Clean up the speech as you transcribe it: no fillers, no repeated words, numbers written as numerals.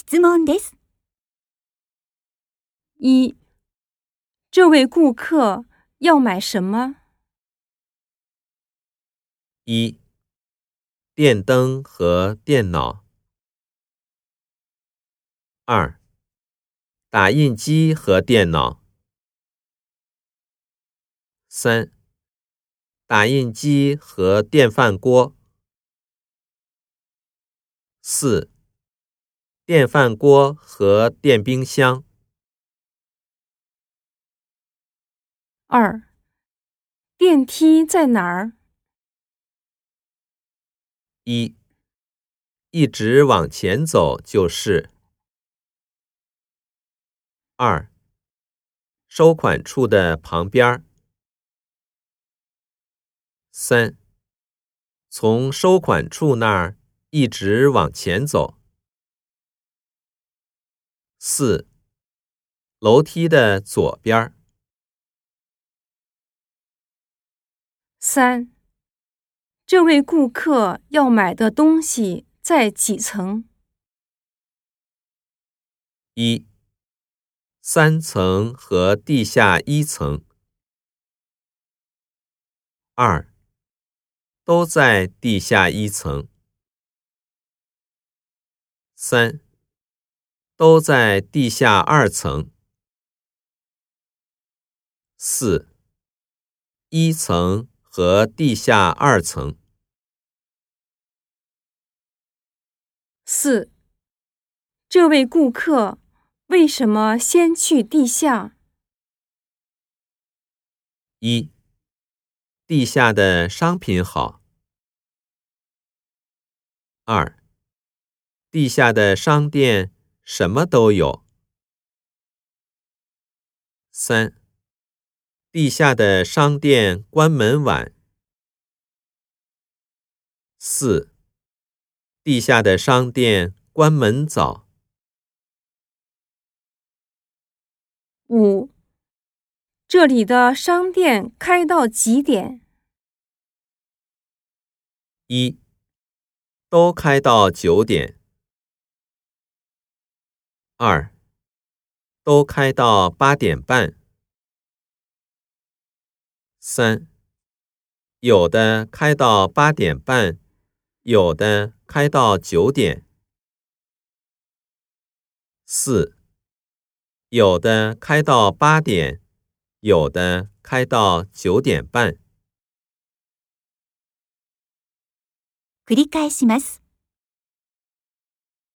質問です。 一，这位顾客要买什么？ 一，电灯和电脑。二，打印机和电脑。三，打印机和电饭锅。四，电饭锅和电冰箱。 二，电梯在哪儿？ 一，一直往前走就是。二，收款处的旁边。三，从收款处那儿一直往前走。四，楼梯的左边。 三，这位顾客要买的东西在几层？ 一，3层和地下1层。二，都在地下1层。三，都在地下2层。四，1层和地下2层。 四，这位顾客为什么先去地下？ 一，地下的商品好。二，地下的商店什么都有。三，地下的商店关门晚。四，地下的商店关门早。 五，这里的商店开到几点？ 一，都开到9点。二，都开到8点半。三，有的开到8点半，有的开到9点。四，有的开到8点，有的开到9点半。 繰り返します。